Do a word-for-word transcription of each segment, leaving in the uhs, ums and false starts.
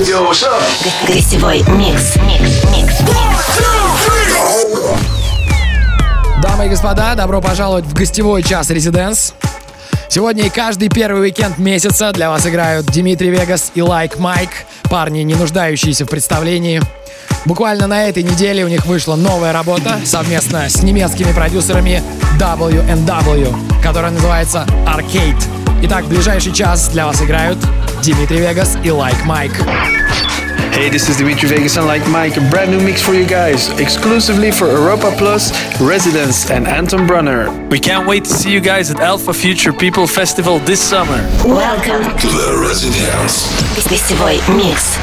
Yo, what's up? Гостевой микс. Микс, микс, Дамы и господа, добро пожаловать в гостевой час Residence. Сегодня и каждый первый уикенд месяца для вас играют Димитри Вегас и Like Mike, парни, не нуждающиеся в представлении. Буквально на этой неделе у них вышла новая работа совместно с немецкими продюсерами дабл ю энд дабл ю, которая называется Arcade. Итак, в ближайший час для вас играют Димитри Вегас и Like Mike. Hey, this is Dimitri Vegas and Like Mike, a brand new mix for you guys, exclusively for Europa Plus, Residence and Anton Brunner. We can't wait to see you guys at Alpha Future People Festival this summer. Welcome To the Residence. Гостевой микс.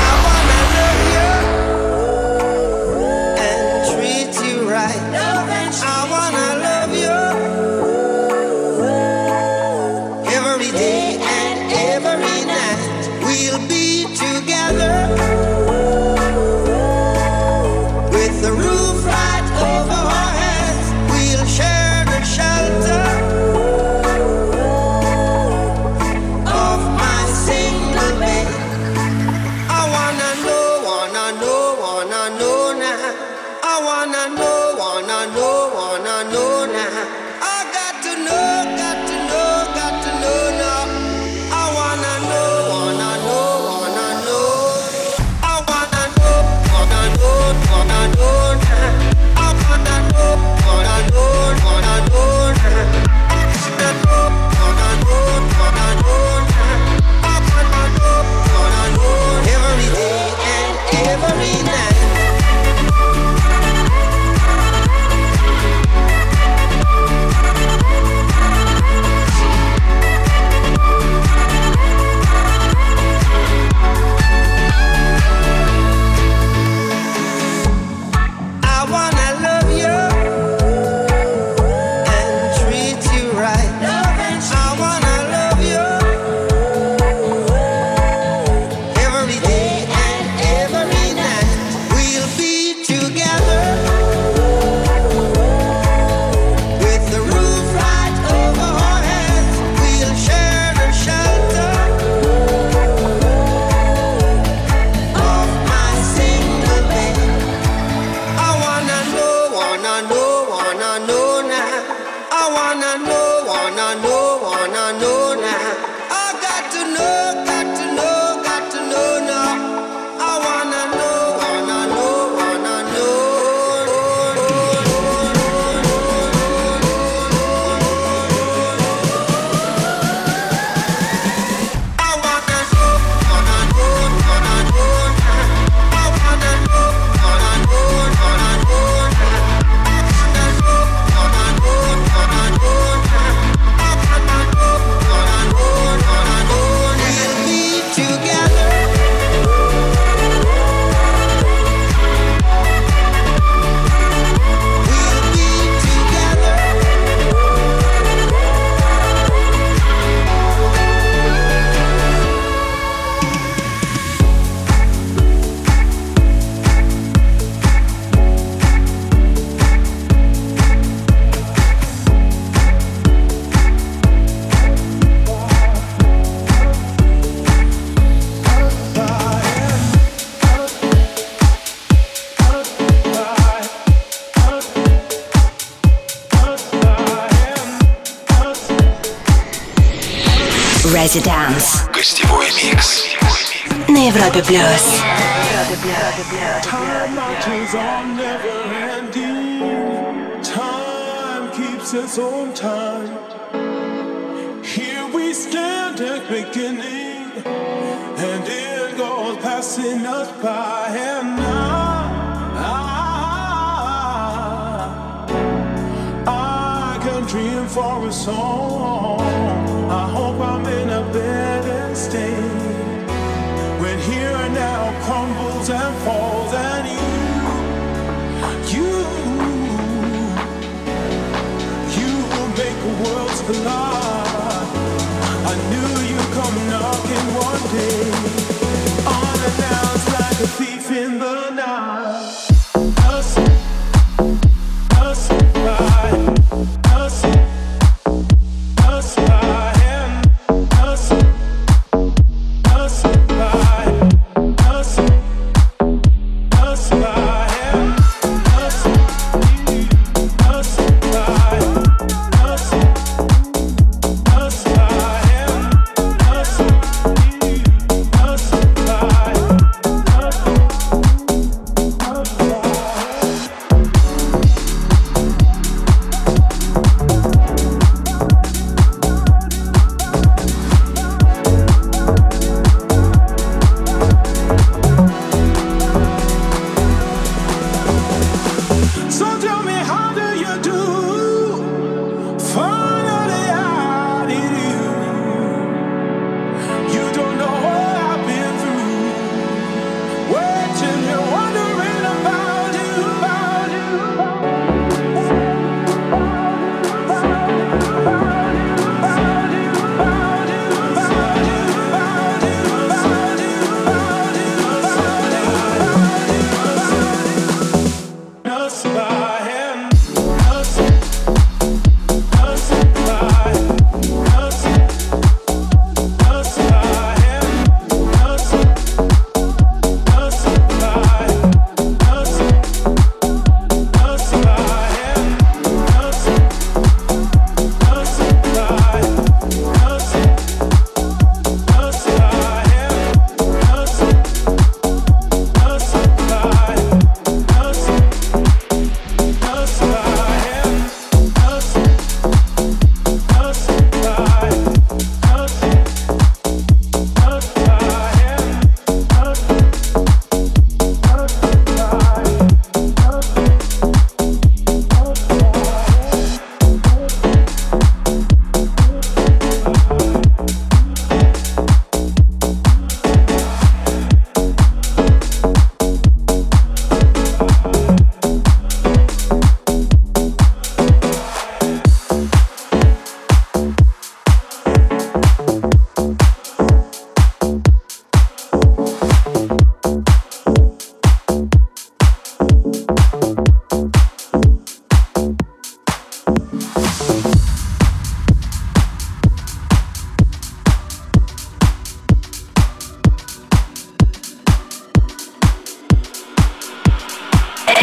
Residence. Гостевой микс. На Европе плюс. Time marches on, never ending. Time keeps its own time. Here we stand at beginning, and it goes passing us by. And I, I, I can dream for a song. I hope I'm in a better state when here and now crumbles and falls, and you, you, you will make the worlds collide. I knew you'd come knocking one day, unannounced like a thief in the night. Us, us, right, us, us, right.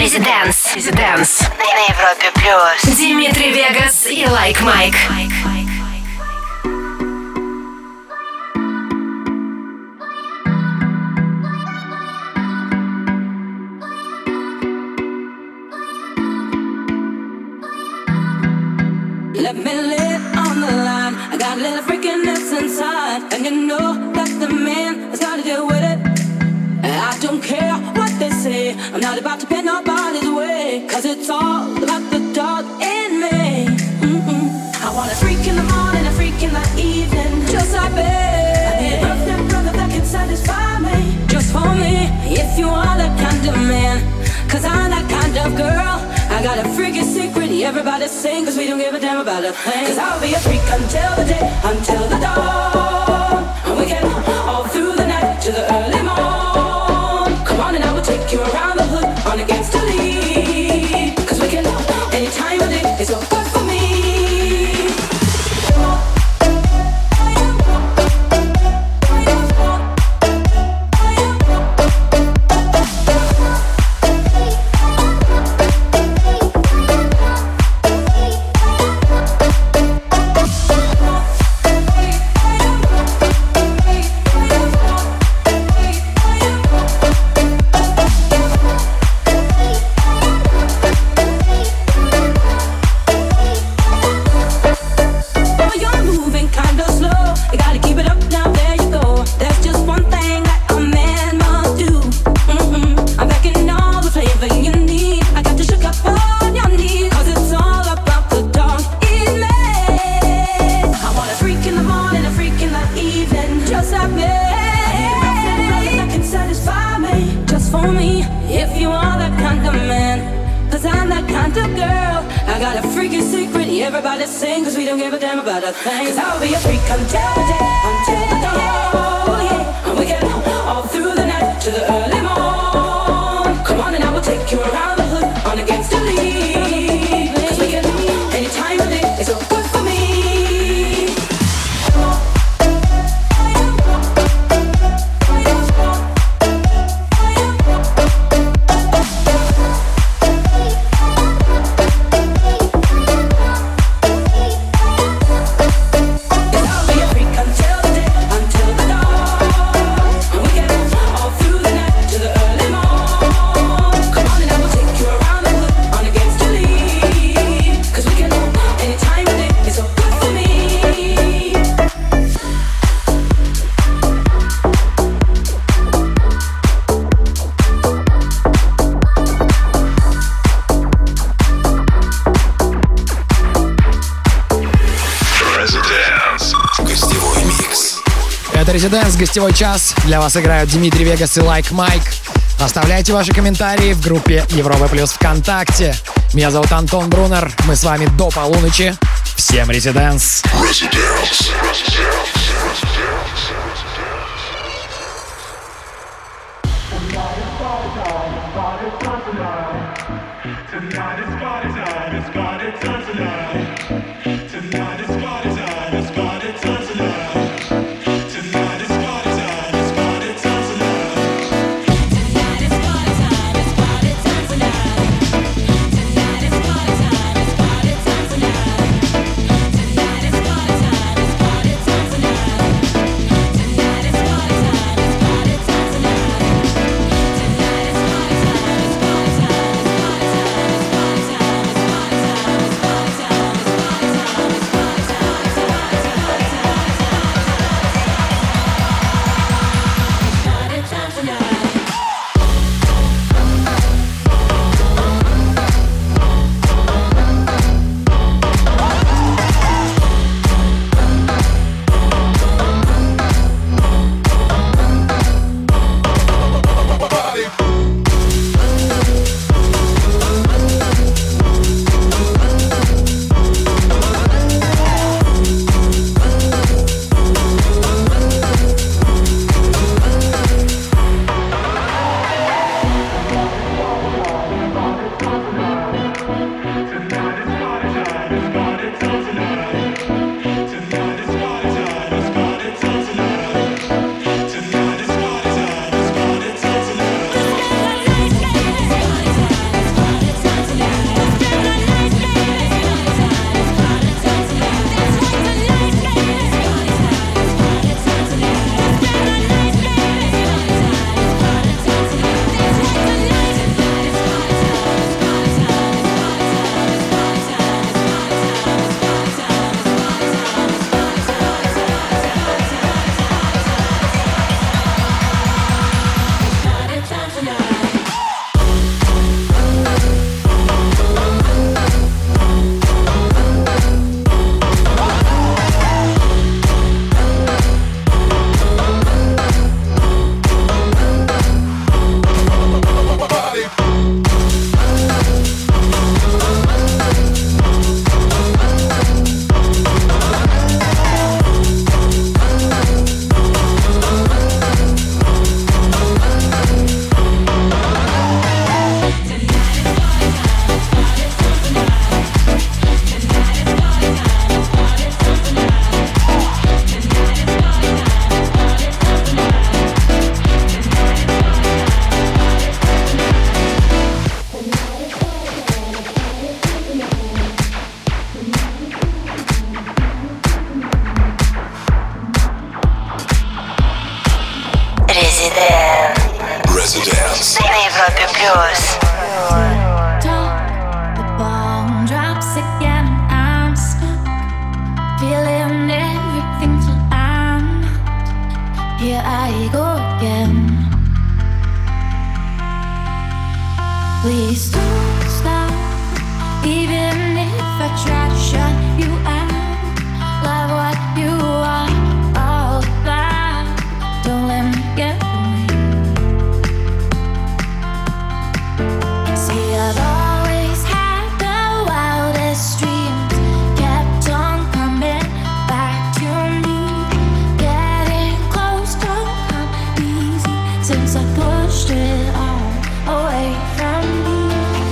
Residence. Residence. На Европе плюс. Димитри Вегас и Like Mike. Let me lay it on the line. I got a little freakiness inside, and you know that the man has got to deal with it. And I don't care what they say, I'm not about to pay nobody's way, cause it's all about the dog in me. Mm-mm. I want a freak in the morning, a freak in the evening, just like me. I need a girlfriend, brother that can satisfy me, just for me. If you are that kind of man, cause I'm that kind of girl. I got a freaky secret, everybody sing, cause we don't give a damn about a thing. Cause I'll be a freak until the day, until the dawn. And we can all through the night to the early morn. Come on and I will take you around the hood on against the lead. Cause we can any time of day, it's all good for me. Residence, гостевой час. Для вас играют Димитри Вегас и Like Mike. Оставляйте ваши комментарии в группе Европа Плюс ВКонтакте. Меня зовут Антон Брунер. Мы с вами до полуночи. Всем Residence. Residence. Residence. Residence. На Европе плюс. The bomb drops again. I'm stuck, feeling everything flat. Here I go again. Please don't stop, even if I try to shut you out. Love what you are all about. Don't let me get away. See, I've always had the wildest dreams, kept on coming back to me. Getting close don't come easy since I pushed it all away from me.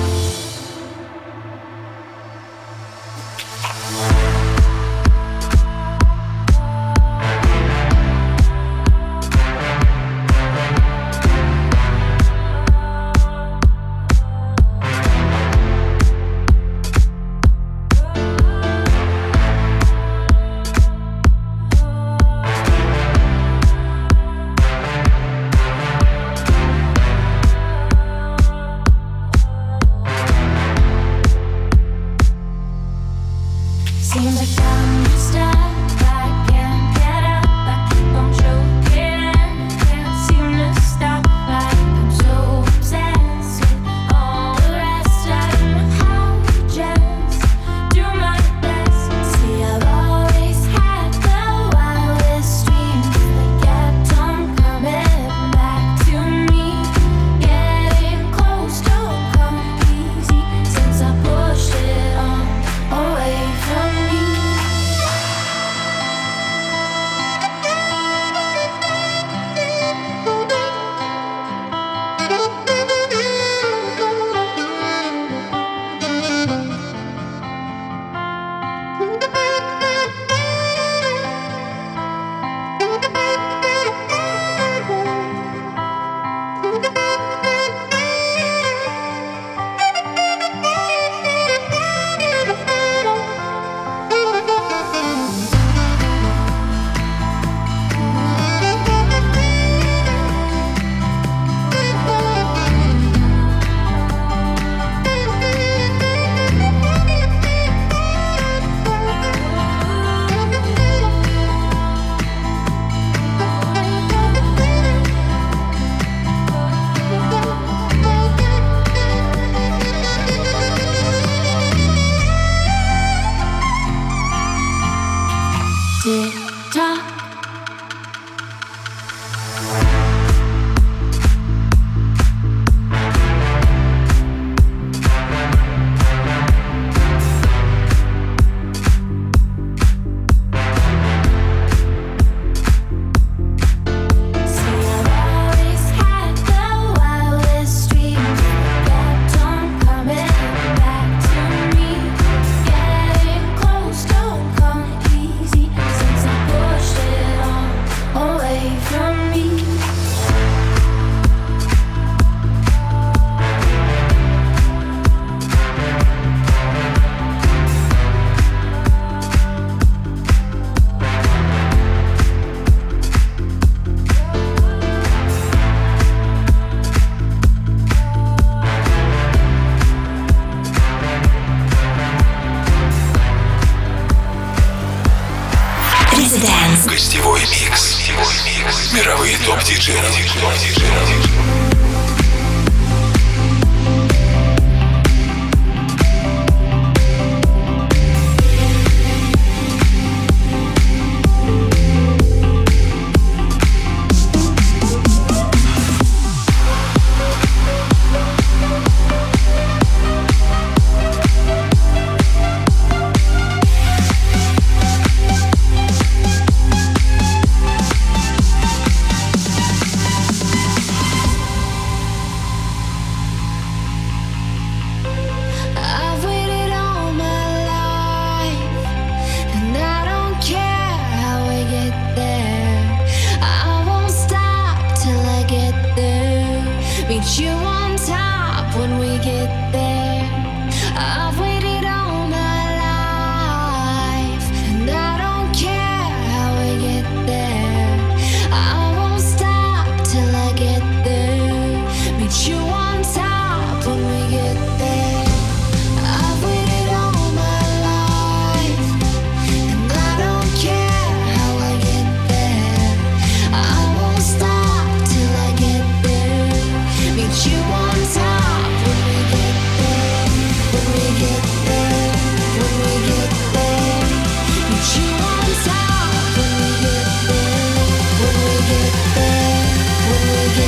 Seems like I'm stuck, I can't get up, I keep on choking, can't seem to stop, like I'm so obsessed with all the rest. I don't know how to just do my best. See, I've always had the wildest dreams, they kept on coming back to me. Getting close don't come easy since I pushed it all away from me. Tick tock. Гостевой микс. Мировые топ-диджеи. You on top when we get there. I've waited all my life, and I don't care how we get there. I won't stop till I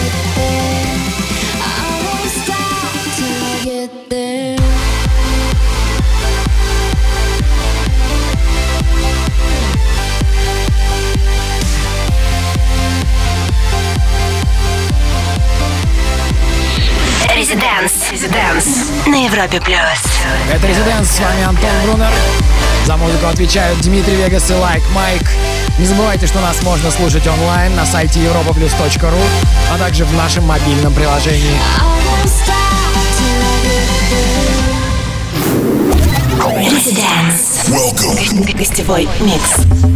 На Европе плюс. Это Residence, с вами Антон Брунер. За музыку отвечают Дмитрий Вегас и Like Mike. Не забывайте, что нас можно слушать онлайн на сайте европа плюс точка ру, а также в нашем мобильном приложении. Residence. Welcome. Гостевой микс.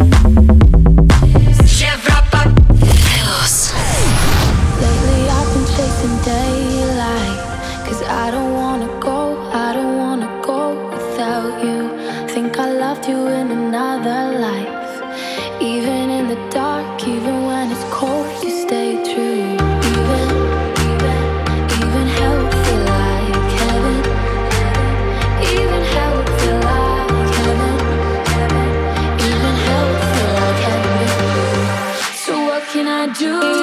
Европа плюс. Lately I've been chasing daylight, 'cause I don't wanna go, I don't wanna go without you. Think I loved you in another life. Even in the dark, even when it's cold, you stay true. Even, even, even hell would feel like heaven. Even hell would feel like heaven. Even hell would feel like heaven. So what can I do?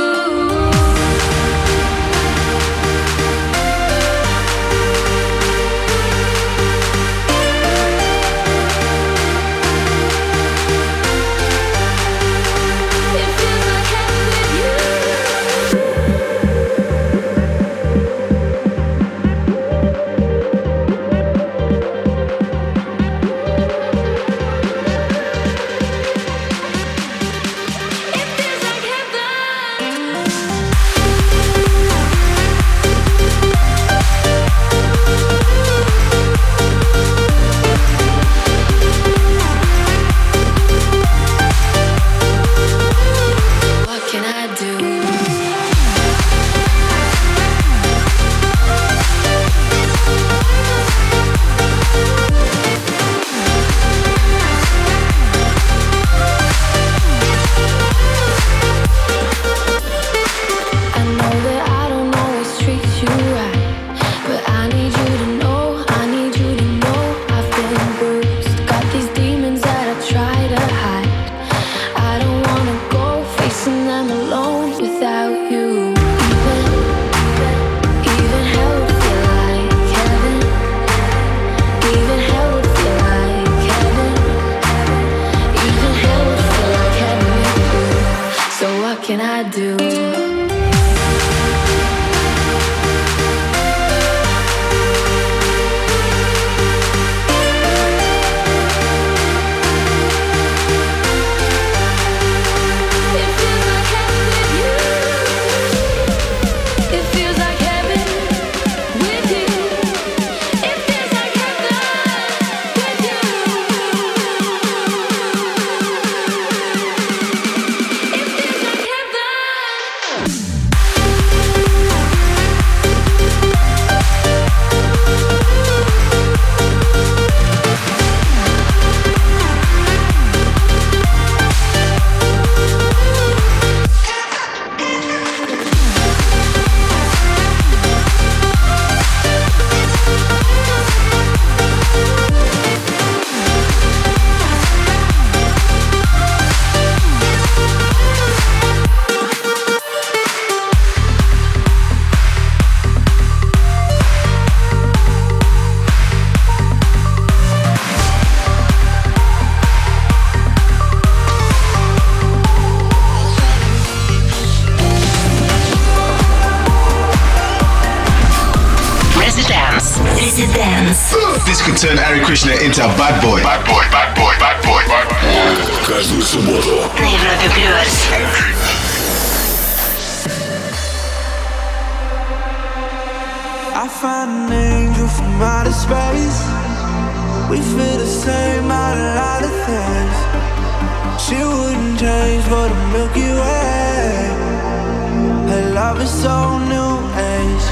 This could turn Ari Krishna into a bad boy. Bad boy, bad boy, bad boy, bad boy. Каждую субботу на Европе плюс. I found an angel from outer space. We feel the same about a lot of things. She wouldn't change for the Milky Way. Her love is so new age.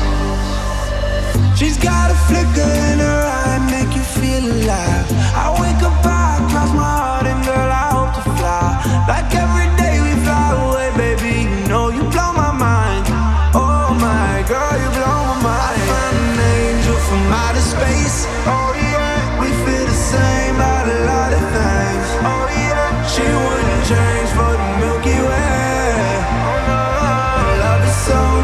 She's got a flicker in her eye, make you feel alive. I wake up, I cross my heart, and girl, I hope to fly. Like every day we fly away, baby, you know you blow my mind. Oh my girl, you blow my mind. I found an angel from outer space. Oh yeah, we feel the same about a lot of things. Oh yeah, she wouldn't change for the Milky Way. Oh no, her love is so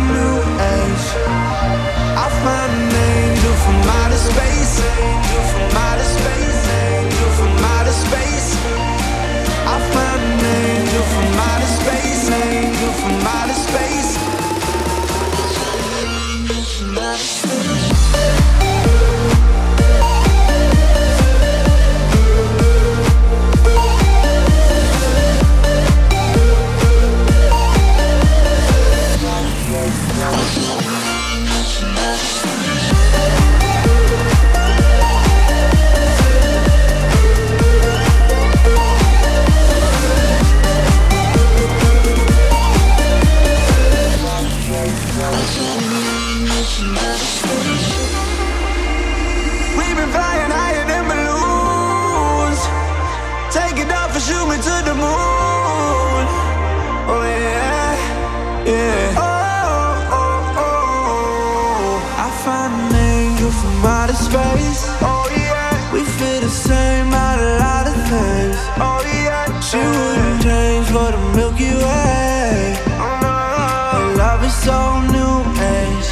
so new age.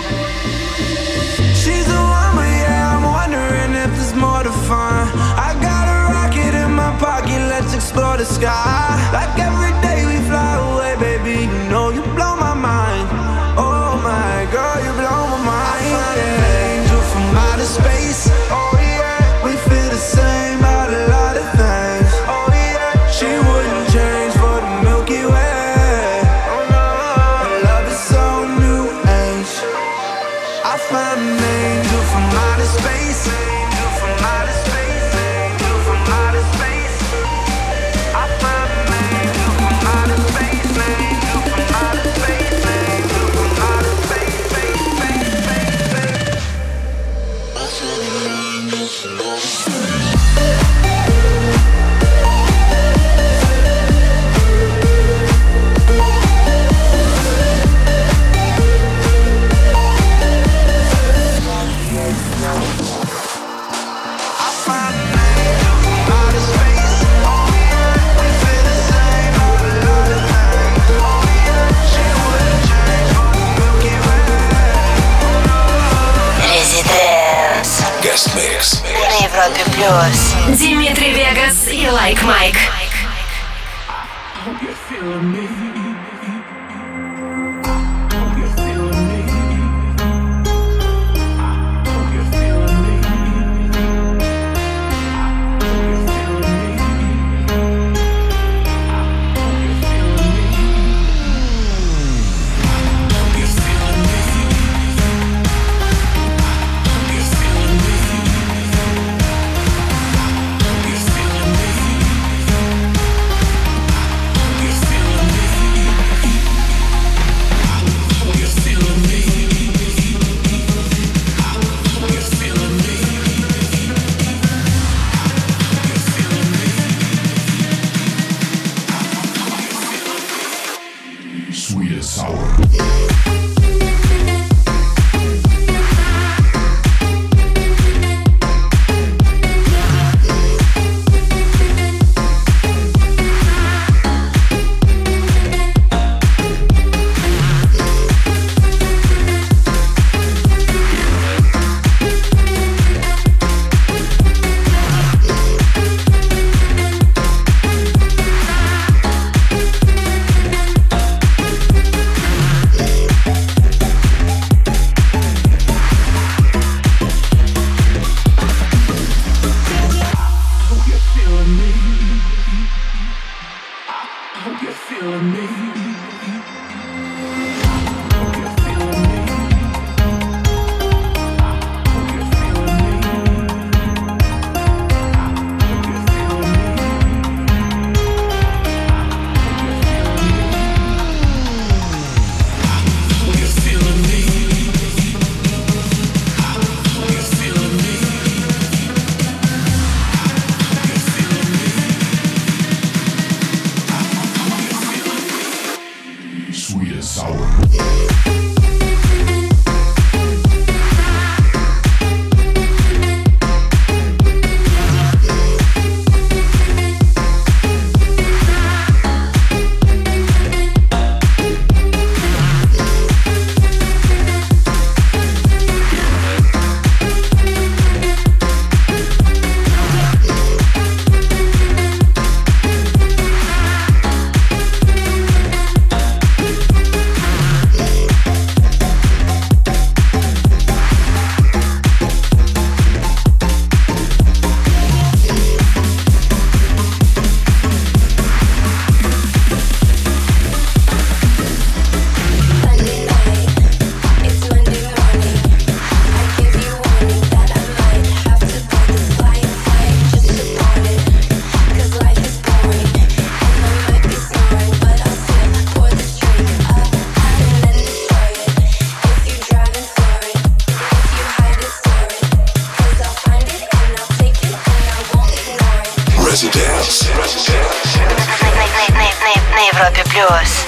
She's the one, but yeah, I'm wondering if there's more to find. I got a rocket in my pocket, let's explore the sky. Like every day we fly away, baby, you know you blow my mind. Oh my girl, you blow my mind. I find an angel from outer space. Oh yeah, we feel the same about a lot of things. Oh yeah, she wouldn't change for the Milky Way. Oh no, her love is so new age. I find an angel from outer space. Angel from outer space. Angel from outer space. I find an angel from outer space. Angel from outer space. Angel from outer space. Space, space, space, space. I find an angel from outer space. Guest Mix на Европе Плюс. Димитри Вегас и Like Mike. На Европе Плюс.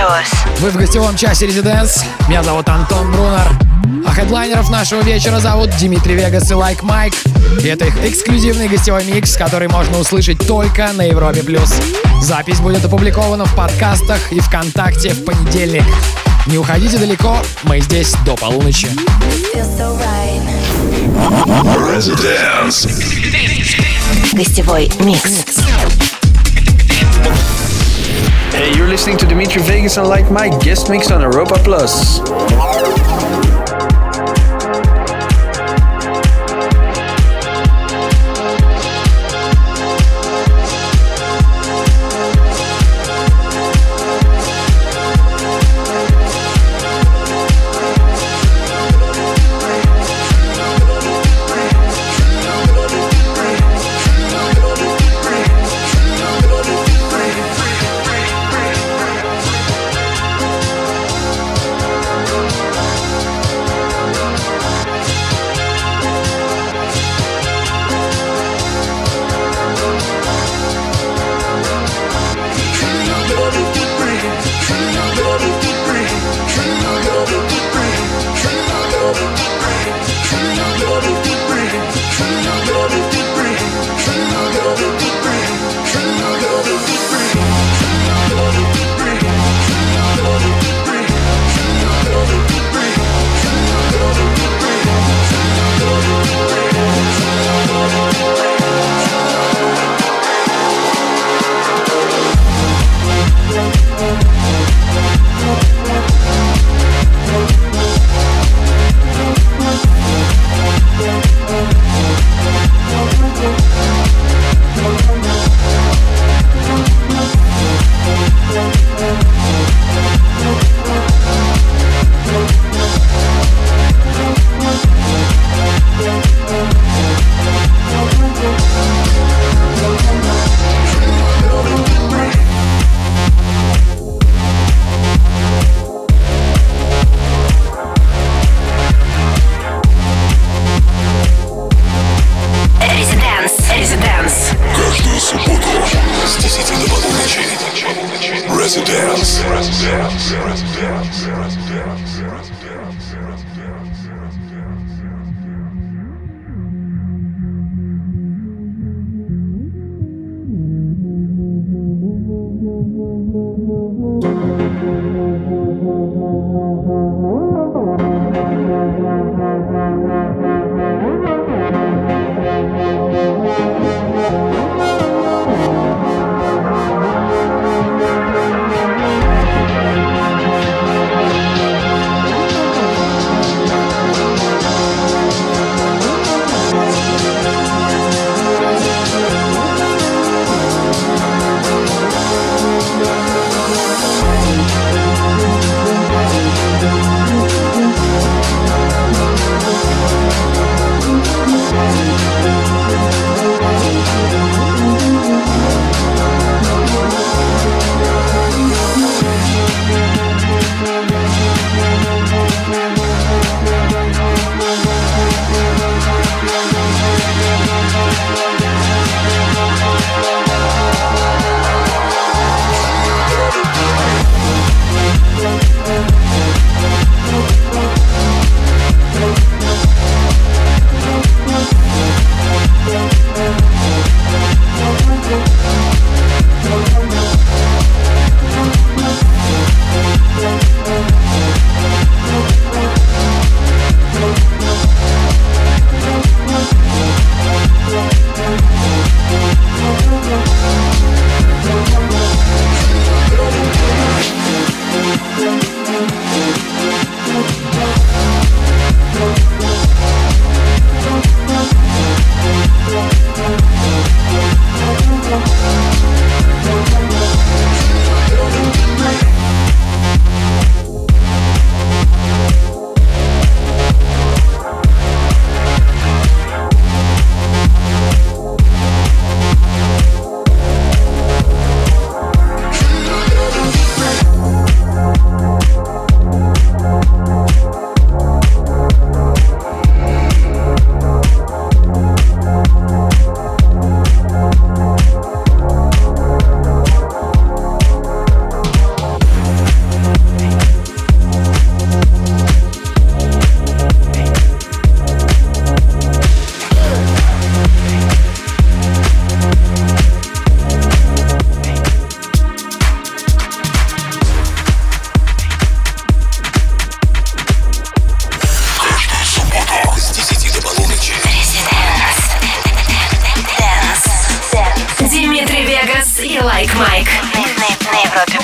Вы в гостевом часе Residence. Меня зовут Антон Брунер. А хедлайнеров нашего вечера зовут Димитри Вегас и Like Mike. И это их эксклюзивный гостевой микс, который можно услышать только на Европе+. Запись будет опубликована в подкастах и ВКонтакте в понедельник. Не уходите далеко, мы здесь до полуночи. Residence. Гостевой микс. Hey, you're listening to Dimitri Vegas and Like Mike guest mix on Europa Plus.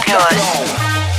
плюс.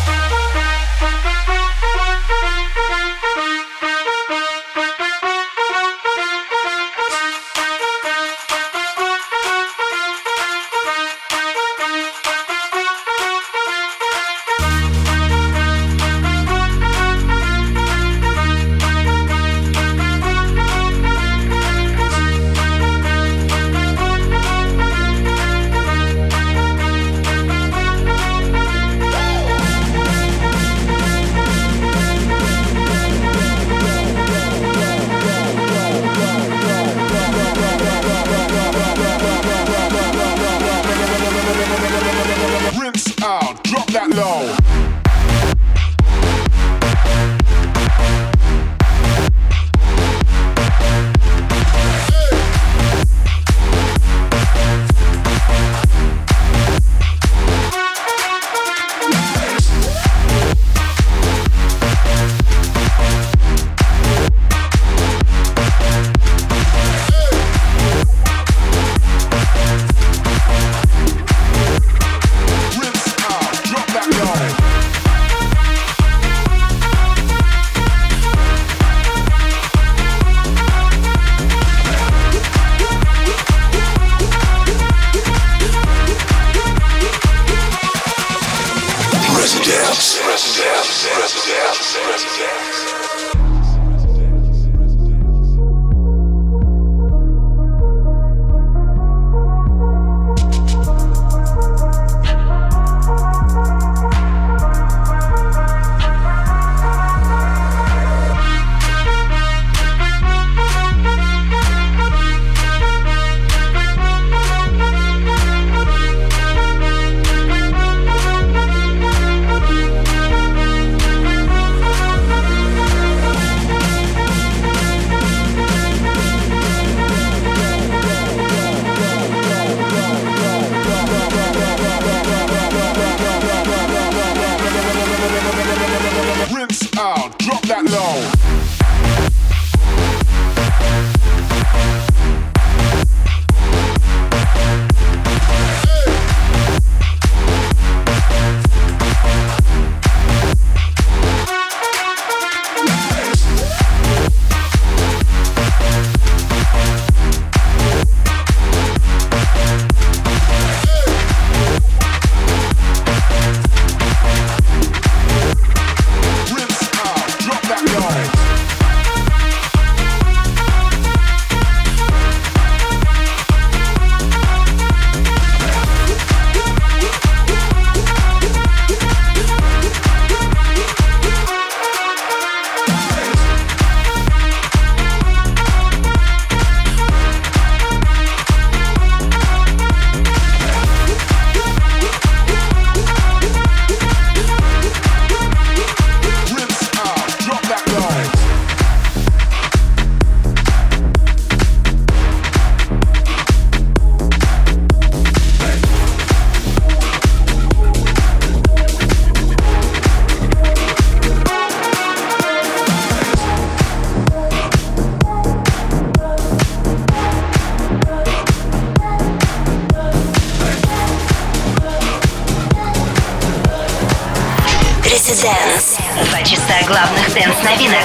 Residence. Два часа главных дэнс-новинок.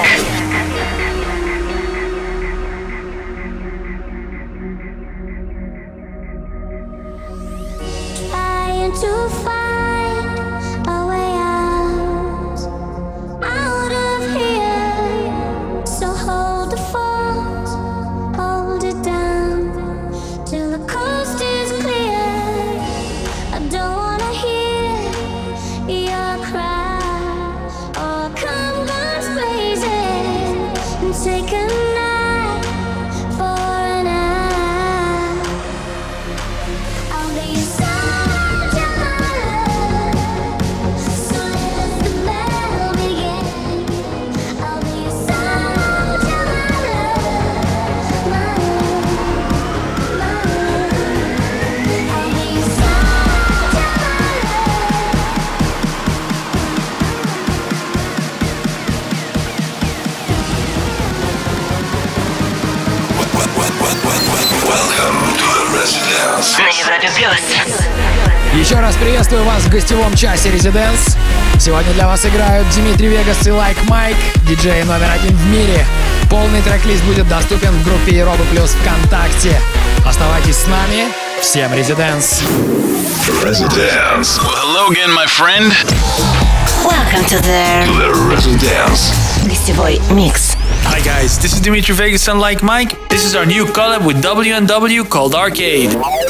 На Европе плюс. Еще раз приветствую вас в гостевом часе Residence. Сегодня для вас играют Дмитрий Вегас и Like Mike, диджей номер один в мире. Полный трек-лист будет доступен в группе Европа Плюс ВКонтакте. Оставайтесь с нами. Всем Residence. Residence. Well, hello again, my friend. Welcome to the, To the Residence. гостевой микс. Hi guys, this is Dimitri Vegas and Like Mike. This is our new collab with W and W called Arcade.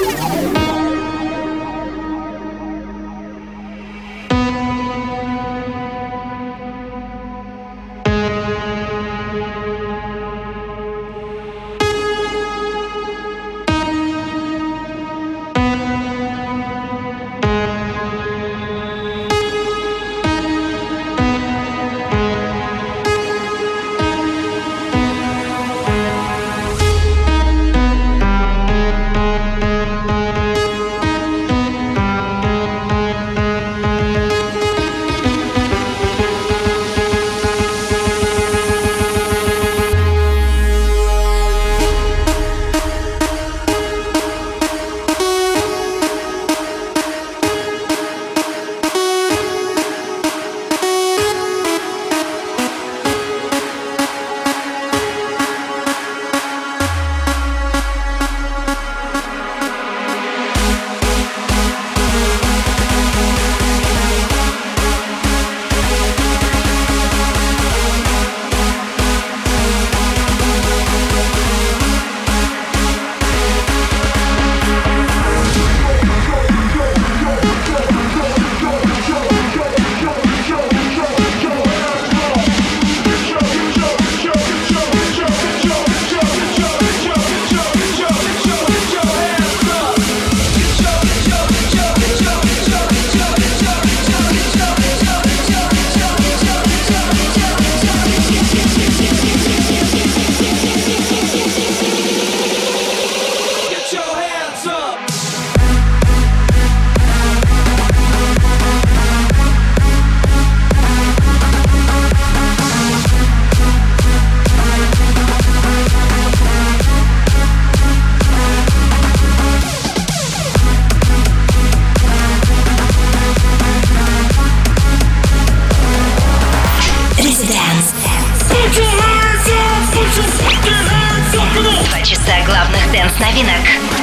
Два часа главных дэнс-новинок.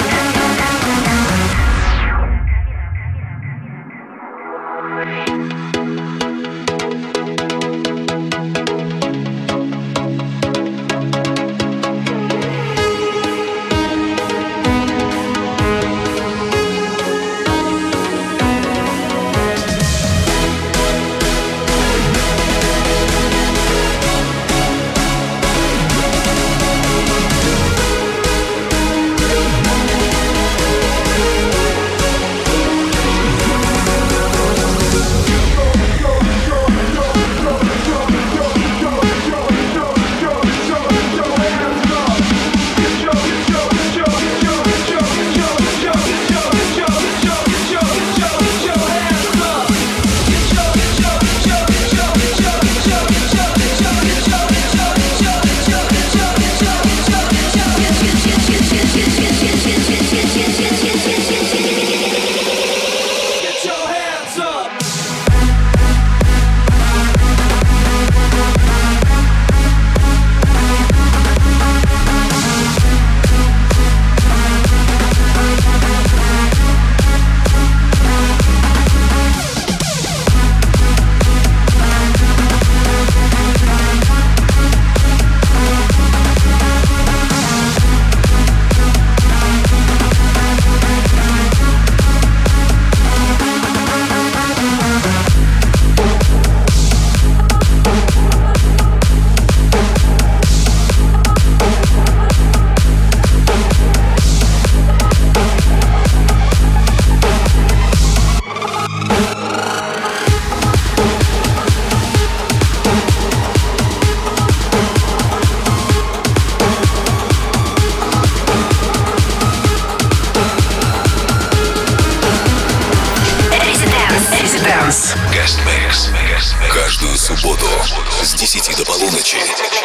Guest Mix. Каждую субботу с десяти до полуночи.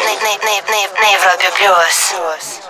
На Европе Плюс.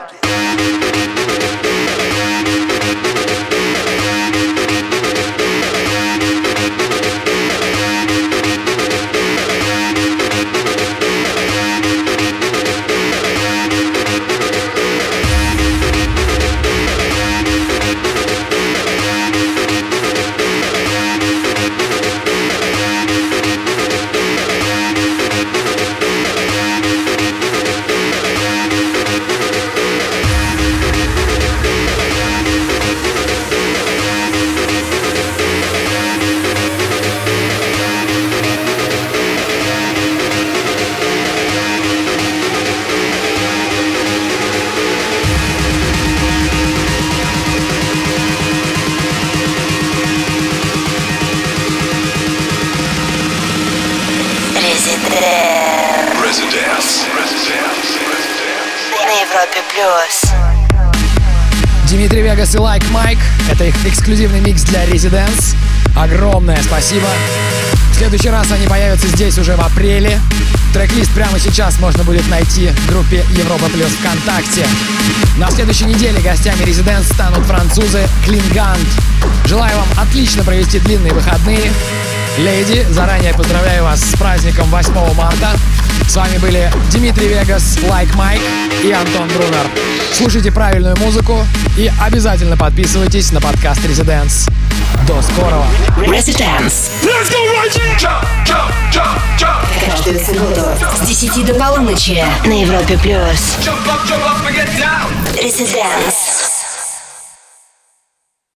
Европе плюс. Димитри Вегас и Like Mike. Это их эксклюзивный микс для Residents. Огромное спасибо. В следующий раз они появятся здесь уже в апреле. Трек-лист прямо сейчас можно будет найти в группе Европа Плюс ВКонтакте. На следующей неделе гостями Residents станут французы Klingant. Желаю вам отлично провести длинные выходные. Леди, заранее поздравляю вас с праздником восьмого марта. С вами были Димитри Вегас, Like Mike и Антон Брунер. Слушайте правильную музыку и обязательно подписывайтесь на подкаст Residents. До скорого. Residents. Let's go right here. Jump, jump, jump, jump. Каждую субботу с десяти до полуночи на Европе плюс. Jump up, jump up and get down. Residents.